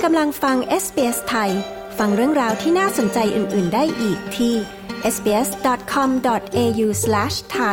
กำลังฟัง SBS ไทยฟังเรื่องราวที่น่าสนใจอื่นๆได้อีกที่ sbs.com.au/thai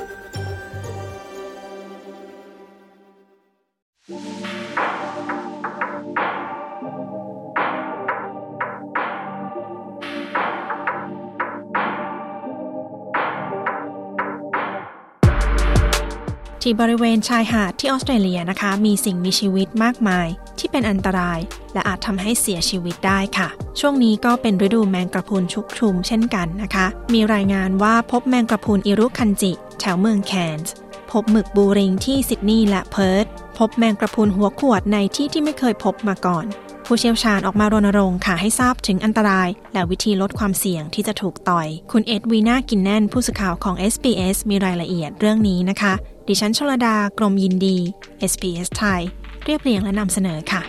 ที่บริเวณชายหาดที่ออสเตรเลียนะคะมีสิ่งมีชีวิตมากมายที่เป็นอันตรายและอาจทำให้เสียชีวิตได้ค่ะช่วงนี้ก็เป็นฤดูแมงกระพรุนชุกชุมเช่นกันนะคะมีรายงานว่าพบแมงกระพรุนอิรุคันจิแถวเมืองแคนส์พบหมึกบูริงที่ซิดนีย์และเพิร์ธพบแมงกระพรุนหัวขวดในที่ที่ไม่เคยพบมาก่อนผู้เชี่ยวชาญออกมารณรงค์ค่ะให้ทราบถึงอันตรายและวิธีลดความเสี่ยงที่จะถูกต่อยคุณเอ็ดวีน่ากินแน่นผู้สื่อข่าวของ SBS มีรายละเอียดเรื่องนี้นะคะดิฉันชลดากรมยินดี SBS ไทยเรียบเรียงและนำเสนอค่ะ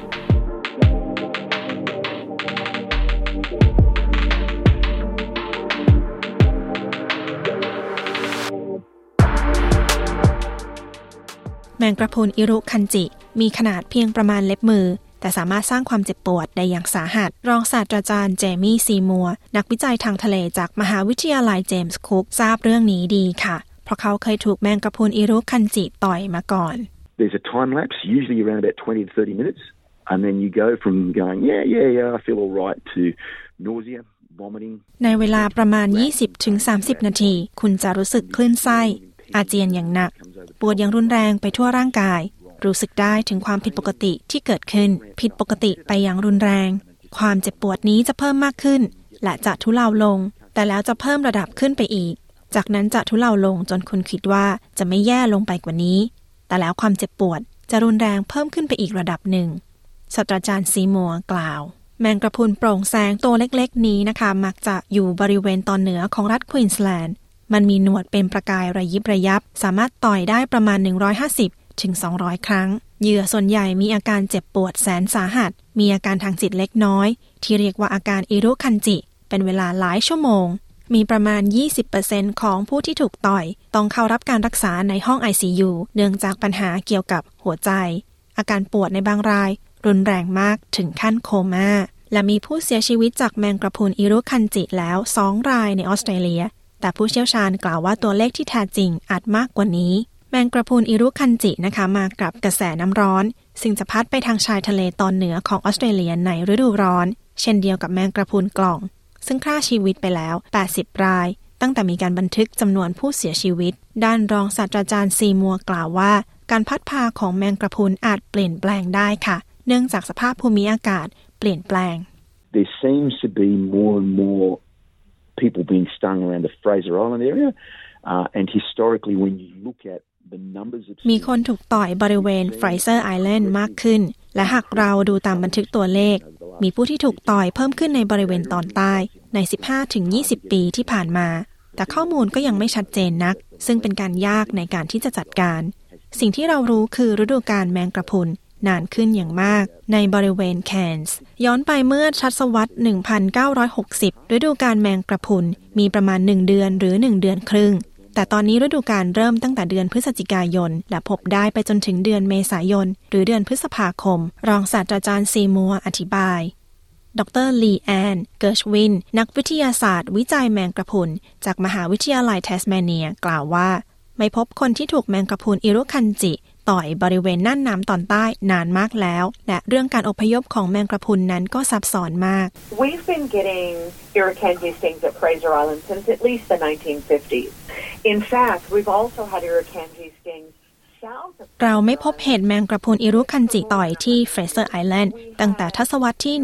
แมงกระพรุนอิรุคันจิมีขนาดเพียงประมาณเล็บมือแต่สามารถสร้างความเจ็บปวดได้อย่างสาหัสรองศาสตราจารย์เจมี่ซีมัวร์นักวิจัยทางทะเลจากมหาวิทยาลัยเจมส์คุกทราบเรื่องนี้ดีค่ะเพราะเขาเคยถูกแมงกระพรุนอิรุคันจิต่อยมาก่อน There's a time lapse usually around about 20 to 30 minutes and then you go from going yeah I feel all right to nausea vomiting ในเวลาประมาณ 20-30 นาทีคุณจะรู้สึกคลื่นไส้อาเจียนอย่างหนักปวดอย่างรุนแรงไปทั่วร่างกายรู้สึกได้ถึงความผิดปกติที่เกิดขึ้นผิดปกติไปอย่างรุนแรงความเจ็บปวดนี้จะเพิ่มมากขึ้นและจะทุเลาลงแต่แล้วจะเพิ่มระดับขึ้นไปอีกจากนั้นจะทุเลาลงจนคุณคิดว่าจะไม่แย่ลงไปกว่านี้แต่แล้วความเจ็บปวดจะรุนแรงเพิ่มขึ้นไปอีกระดับหนึ่งศาสตราจารย์ซีมัวร์กล่าวแมงกระพรุนโปร่งแสงตัวเล็กๆนี้นะคะมักจะอยู่บริเวณตอนเหนือของรัฐควีนสแลนด์มันมีหนวดเป็นประกายระยิบระยับสามารถต่อยได้ประมาณ150ถึง200 ครั้งเหยื่อส่วนใหญ่มีอาการเจ็บปวดแสนสาหัสมีอาการทางจิตเล็กน้อยที่เรียกว่าอาการอิรุคันจิเป็นเวลาหลายชั่วโมงมีประมาณ 20% ของผู้ที่ถูกต่อยต้องเข้ารับการรักษาในห้อง ICU เนื่องจากปัญหาเกี่ยวกับหัวใจอาการปวดในบางรายรุนแรงมากถึงขั้นโคม่าและมีผู้เสียชีวิตจากแมงกระพรุนอิรุคันจิแล้ว2 รายในออสเตรเลียแต่ผู้เชี่ยวชาญกล่าวว่าตัวเลขที่แท้จริงอาจมากกว่านี้แมงกระพรุนอิรุคันจินะคะมากับกระแสน้ำร้อนซึ่งจะพัดไปทางชายทะเลตอนเหนือของออสเตรเลียในฤดูร้อนเช่นเดียวกับแมงกระพรุนกล่องซึ่งฆ่าชีวิตไปแล้ว80 รายตั้งแต่มีการบันทึกจำนวนผู้เสียชีวิตด้านรองศาสตราจารย์ซีมัวร์กล่าวว่าการพัดพาของแมงกระพรุนอาจเปลี่ยนแปลงได้ค่ะเนื่องจากสภาพภูมิอากาศเปลี่ยนแปลง There seems to be more and more people being stung around the Fraser Island area and historically when you look atมีคนถูกต่อยบริเวณ Fraser Island มากขึ้นและหากเราดูตามบันทึกตัวเลขมีผู้ที่ถูกต่อยเพิ่มขึ้นในบริเวณตอนใต้ใน 15-20 ปีที่ผ่านมาแต่ข้อมูลก็ยังไม่ชัดเจนนักซึ่งเป็นการยากในการที่จะจัดการสิ่งที่เรารู้คือฤดูกาลแมงกระพรุนนานขึ้นอย่างมากในบริเวณแคนส์ย้อนไปเมื่อทศวรรษ 1960 ฤดูกาลแมงกระพรุนมีประมาณ1 เดือนหรือ1 เดือนครึ่งแต่ตอนนี้ฤดูกาลเริ่มตั้งแต่เดือนพฤศจิกายนและพบได้ไปจนถึงเดือนเมษายนหรือเดือนพฤษภาคมรองศาสตราจารย์ซีมัวร์อธิบายดร.ลีแอนเกิร์ชวินนักวิทยาศาสตร์วิจัยแมงกระพรุนจากมหาวิทยาลัยแทสเมเนียกล่าวว่าไม่พบคนที่ถูกแมงกระพรุนอิรุคันจิต่อยบริเวณน่านน้ำตอนใต้นานมากแล้วและเรื่องการอพยพของแมงกระพรุนนั้นก็ซับซ้อนมาก We've been getting irukandji stings at Fraser Island since at least the 1950s. In fact, we've also had irukandji stings เราไม่พบเหตุแมงกระพรุนอิรุคันจิต่อยที่ Fraser Island ตั้งแต่ทศวรรษที่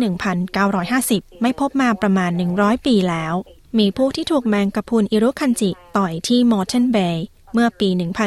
1950 ไม่พบมาประมาณ100 ปีแล้วมีผู้ที่ถูกแมงกระพรุนอิรุคันจิต่อยที่ Moreton Bay เมื่อปี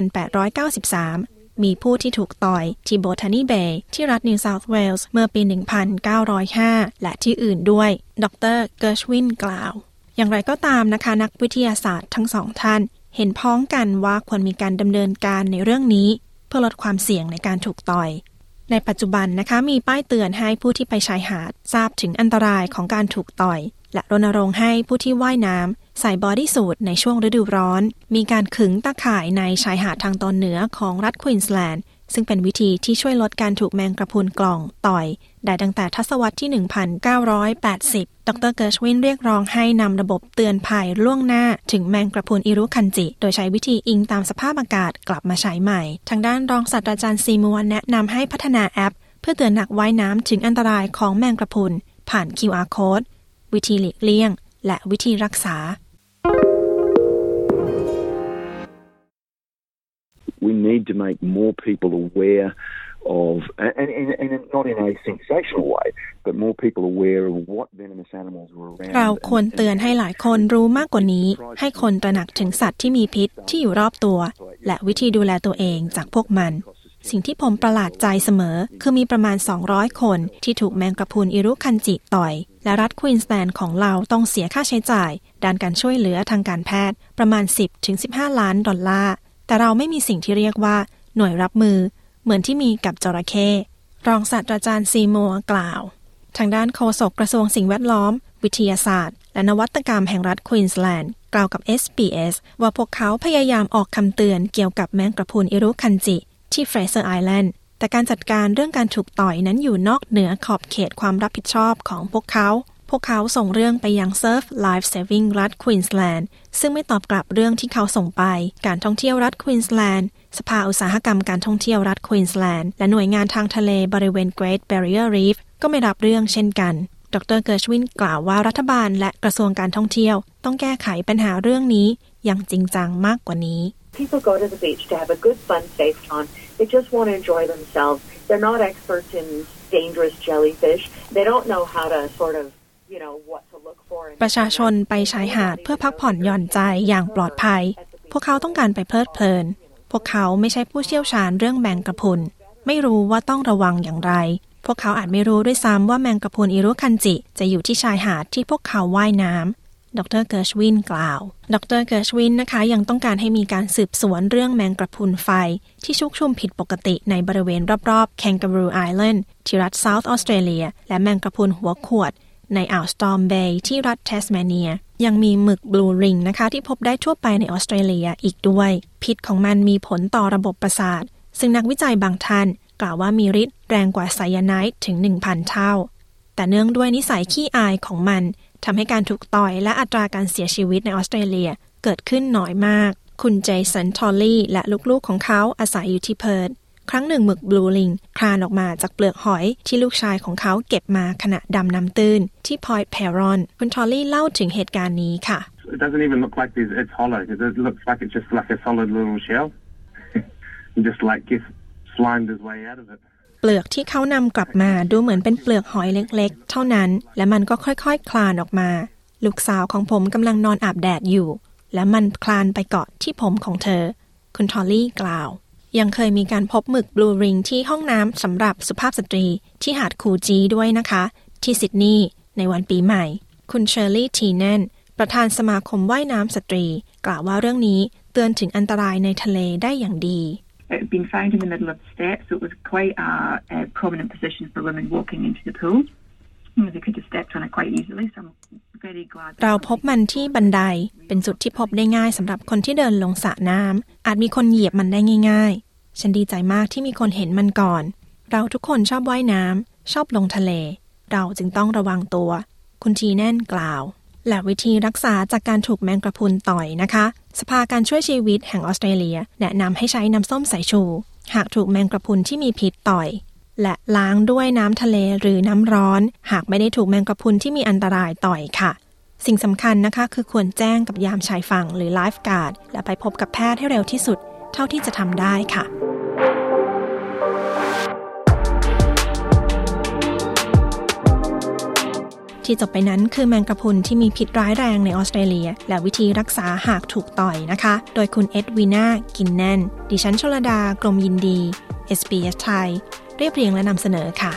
1893 มีผู้ที่ถูกต่อยที่ Botany Bay ที่รัฐ New South Wales เมื่อปี 1905 และที่อื่นด้วยดร.เกิร์ชวินกล่าวอย่างไรก็ตามนะคะนักวิทยาศาสตร์ทั้ง2 ท่านเห็นพ้องกันว่าควรมีการดำเนินการในเรื่องนี้เพื่อลดความเสี่ยงในการถูกต่อยในปัจจุบันนะคะมีป้ายเตือนให้ผู้ที่ไปชายหาดทราบถึงอันตรายของการถูกต่อยและรณรงค์ให้ผู้ที่ว่ายน้ำใส่บอดี้สูทในช่วงฤดูร้อนมีการขึงตะข่ายในชายหาดทางตอนเหนือของรัฐควีนสแลนด์ซึ่งเป็นวิธีที่ช่วยลดการถูกแมงกระพรุนกล่องต่อยได้ตั้งแต่ทศวรรษที่ 1980 ดร. เกิร์ชวินเรียกร้องให้นำระบบเตือนภัยล่วงหน้าถึงแมงกระพรุนอิรุคันจิโดยใช้วิธีอิงตามสภาพอากาศกลับมาใช้ใหม่ทางด้านรองศาสตราจารย์ซีมัวแนะนำให้พัฒนาแอปเพื่อเตือนนักว่ายน้ำถึงอันตรายของแมงกระพรุนผ่าน QR Code วิธีหลีกเลี่ยงและวิธีรักษา We need to make more people aware of, and not in a sensational way, but more people aware of what venomous animals are around. เราควรเตือนให้หลายคนรู้มากกว่านี้ให้คนตระหนักถึงสัตว์ที่มีพิษที่อยู่รอบตัวและวิธีดูแลตัวเองจากพวกมันสิ่งที่ผมประหลาดใจเสมอคือมีประมาณ200คนที่ถูกแมงกระพรุนอิรุคันจิต่อยและรัฐควีนสแลนด์ของเราต้องเสียค่าใช้จ่ายด้านการช่วยเหลือทางการแพทย์ประมาณ 10-15 ล้านดอลลาร์แต่เราไม่มีสิ่งที่เรียกว่าหน่วยรับมือเหมือนที่มีกับจระเข้รองศาสตราจารย์ซีมัวกล่าวทางด้านโฆษกกระทรวงสิ่งแวดล้อมวิทยาศาสตร์และนวัตกรรมแห่งรัฐควีนสแลนด์กล่าวกับ SBS ว่าพวกเขาพยายามออกคำเตือนเกี่ยวกับแมงกระพรุนอิรุคันจิที่เฟรเซอร์ไอแลนด์แต่การจัดการเรื่องการถูกต่อยนั้นอยู่นอกเหนือขอบเขตความรับผิดชอบของพวกเขาส่งเรื่องไปยัง Surf Life Saving รัฐควีนสแลนด์ซึ่งไม่ตอบกลับเรื่องที่เขาส่งไปการท่องเที่ยวรัฐควีนสแลนด์สภาอุตสาหกรรมการท่องเที่ยวรัฐควีนสแลนด์และหน่วยงานทางทะเลบริเวณ Great Barrier Reef ก็ไม่รับเรื่องเช่นกันดร. เกิร์ชวินกล่าวว่ารัฐบาลและกระทรวงการท่องเที่ยวต้องแก้ไขปัญหาเรื่องนี้อย่างจริงจังมากกว่านี้ People go to the beach to have a good, fun, safe time. They just want to enjoy themselves. They're not experts in dangerous jellyfish. They don't know how to sort of ประชาชนไปชายหาดเพื่อพักผ่อนหย่อนใจอย่างปลอดภัยพวกเขาต้องการไปเพลิดเพลินพวกเขาไม่ใช่ผู้เชี่ยวชาญเรื่องแมงกระพรุนไม่รู้ว่าต้องระวังอย่างไรพวกเขาอาจไม่รู้ด้วยซ้ำว่าแมงกระพรุนอิรุคันจิจะอยู่ที่ชายหาดที่พวกเขาว่ายน้ำดร. เกิร์ชวินกล่าวดร. เกิร์ชวินนะคะยังต้องการให้มีการสืบสวนเรื่องแมงกระพรุนไฟที่ชุกชุมผิดปกติในบริเวณรอบๆ Kangaroo Island ที่รัฐ South Australia และแมงกระพรุนหัวขวดในอ่าวสตอร์มเบย์ที่รัฐเทสเมเนียยังมีหมึกบลูริงนะคะที่พบได้ทั่วไปในออสเตรเลียอีกด้วยพิษของมันมีผลต่อระบบประสาทซึ่งนักวิจัยบางท่านกล่าวว่ามีฤทธิ์แรงกว่าไซยาไนด์ถึง 1,000 เท่าแต่เนื่องด้วยนิสัยขี้อายของมันทำให้การถูกต่อยและอัตราการเสียชีวิตในออสเตรเลียเกิดขึ้นน้อยมากคุณเจสันทอลลี่และลูกๆของเขาอาศัยอยู่ที่เพิร์ธครั้งหนึ่งหมึกบลูลิงคลานออกมาจากเปลือกหอยที่ลูกชายของเขาเก็บมาขณะดำน้ำตื้นที่พอยต์เพรอนคุณทอลลี่เล่าถึงเหตุการณ์นี้ค่ะ It doesn't even look like it's hollow. It looks like it's just like a solid little shell. Just like it slimed its way out of it. เปลือกที่เขานำกลับมาดูเหมือนเป็นเปลือกหอยเล็กๆเท่านั้นและมันก็ค่อยๆคลานออกมาลูกสาวของผมกำลังนอนอาบแดดอยู่และมันคลานไปเกาะที่ผมของเธอคุณทอลลี่กล่าวยังเคยมีการพบหมึกบลูริงที่ห้องน้ำสำหรับสุภาพสตรีที่หาดคูจีด้วยนะคะที่ซิดนีย์ในวันปีใหม่คุณเชอร์รี่ทีแนนประธานสมาคมว่ายน้ำสตรีกล่าวว่าเรื่องนี้เตือนถึงอันตรายในทะเลได้อย่างดี It had been found in the middle of the steps, so it was quite a prominent position for women walking into the pool. They could have stepped on it quite easily, so I'm very glad. เราพบมันที่บันไดเป็นจุดที่พบได้ง่ายสำหรับคนที่เดินลงสระน้ำอาจมีคนเหยียบมันได้ง่ายๆฉันดีใจมากที่มีคนเห็นมันก่อนเราทุกคนชอบว่ายน้ำชอบลงทะเลเราจึงต้องระวังตัวคุณทีแน่นกล่าวและวิธีรักษาจากการถูกแมงกระพรุนต่อยนะคะสภาการช่วยชีวิตแห่งออสเตรเลียแนะนำให้ใช้น้ำส้มสายชูหากถูกแมงกระพรุนที่มีพิษต่อยและล้างด้วยน้ำทะเลหรือน้ำร้อนหากไม่ได้ถูกแมงกระพรุนที่มีอันตรายต่อยค่ะสิ่งสำคัญนะคะคือควรแจ้งกับยามชายฝั่งหรือไลฟ์การ์ดและไปพบกับแพทย์ให้เร็วที่สุดเท่าที่จะทำได้ค่ะที่จบไปนั้นคือแมงกะพรุนที่มีพิษร้ายแรงในออสเตรเลียและวิธีรักษาหากถูกต่อยนะคะโดยคุณเอ็ดวีนากินแน่นดิฉันชลดากรมยินดี SBS ไทยเรียบเรียงและนำเสนอค่ะ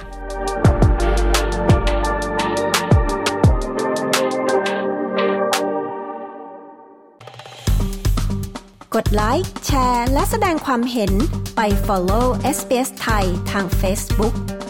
กดไลค์แชร์และแสดงความเห็นไป follow SBS ไทยทาง Facebook